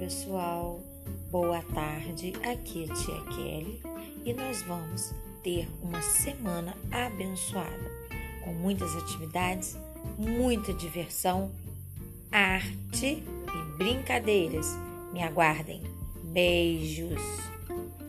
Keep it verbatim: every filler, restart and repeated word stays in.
pessoal, boa tarde, aqui é a tia Kelly e nós vamos ter uma semana abençoada, com muitas atividades, muita diversão, arte e brincadeiras. Me aguardem. Beijos!